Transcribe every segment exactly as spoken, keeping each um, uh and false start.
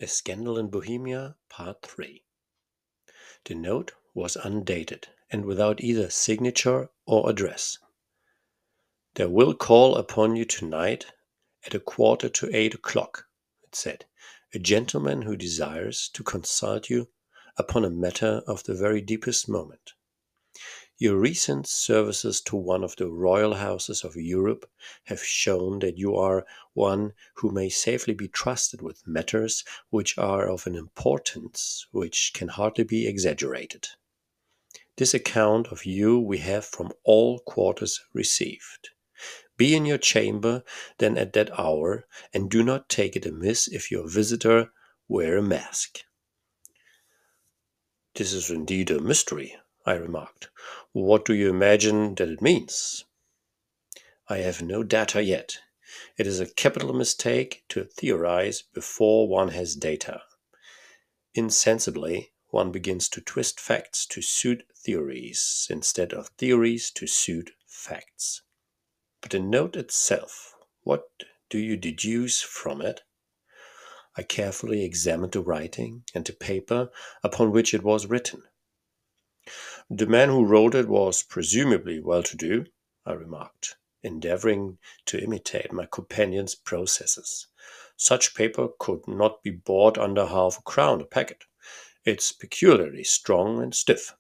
A Scandal in Bohemia, Part three. The note was undated and without either signature or address. "There will call upon you tonight at a quarter to eight o'clock," it said, "a gentleman who desires to consult you upon a matter of the very deepest moment. Your recent services to one of the royal houses of Europe have shown that you are one who may safely be trusted with matters which are of an importance which can hardly be exaggerated. This account of you we have from all quarters received. Be in your chamber then at that hour, and do not take it amiss if your visitor wear a mask." "This is indeed a mystery," I remarked. "What do you imagine that it means?" "I have no data yet. It is a capital mistake to theorize before one has data. Insensibly, one begins to twist facts to suit theories, instead of theories to suit facts. But the note itself, what do you deduce from it?" I carefully examined the writing and the paper upon which it was written. "The man who wrote it was presumably well-to-do," I remarked, endeavoring to imitate my companion's processes. "Such paper could not be bought under half a crown a packet. It's peculiarly strong and stiff."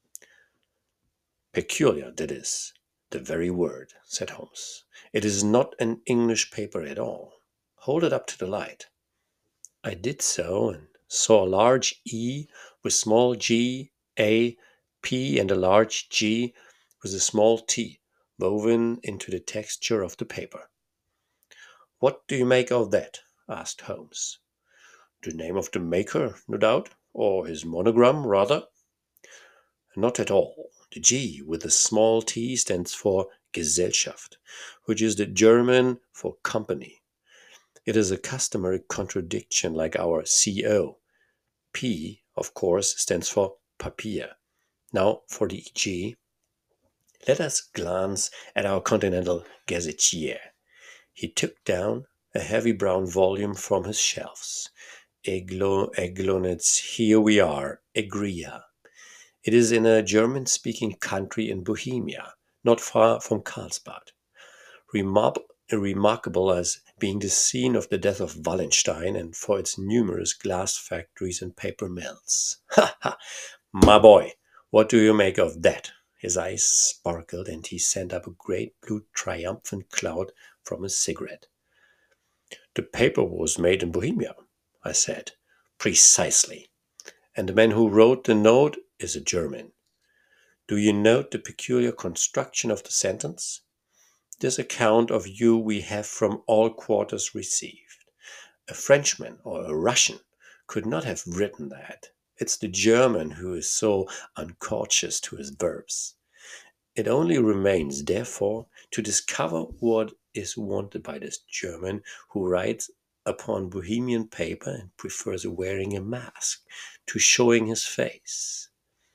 "Peculiar, that is the very word," said Holmes. "It is not an English paper at all. Hold it up to the light." I did so, and saw a large E with small g, a, p, and a large G with a small t woven into the texture of the paper. "What do you make of that?" asked Holmes. "The name of the maker, no doubt, or his monogram, rather." "Not at all. The G with the small t stands for Gesellschaft, which is the German for company. It is a customary contradiction like our C O. P, of course, stands for Papier. Now for the G. Let us glance at our continental gazetier." He took down a heavy brown volume from his shelves. Eglo, Eglonitz, here we are, Egria. It is in a German-speaking country in Bohemia, not far from Karlsbad. Remar- remarkable as being the scene of the death of Wallenstein and for its numerous glass factories and paper mills. Ha ha! My boy, what do you make of that?" His eyes sparkled and he sent up a great blue triumphant cloud from his cigarette. "The paper was made in Bohemia," I said. "Precisely. And the man who wrote the note is a German. Do you note the peculiar construction of the sentence? This account of you we have from all quarters received. A Frenchman or a Russian could not have written that. It's the German who is so uncautious to his verbs. It only remains, therefore, to discover what is wanted by this German who writes upon Bohemian paper and prefers wearing a mask to showing his face.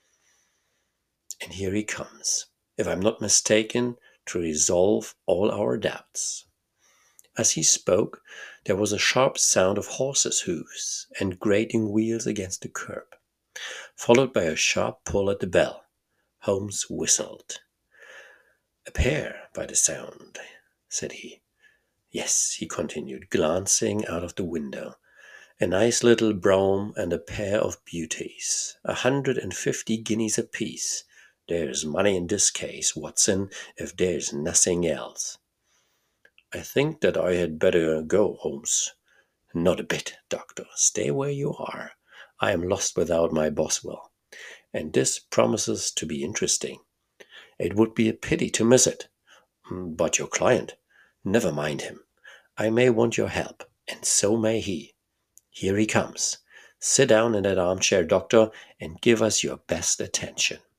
And here he comes, if I'm not mistaken, to resolve all our doubts." As he spoke, there was a sharp sound of horses' hoofs and grating wheels against the curb, followed by a sharp pull at the bell. Holmes whistled. "A pair, by the sound," said he. "Yes," he continued, glancing out of the window. "A nice little brougham and a pair of beauties. A hundred and fifty guineas apiece. There's money in this case, Watson, if there's nothing else." "I think that I had better go, Holmes." "Not a bit, Doctor. Stay where you are. I am lost without my Boswell. And this promises to be interesting. It would be a pity to miss it. But your client? Never mind him. I may want your help, and so may he. Here he comes. Sit down in that armchair, Doctor, and give us your best attention."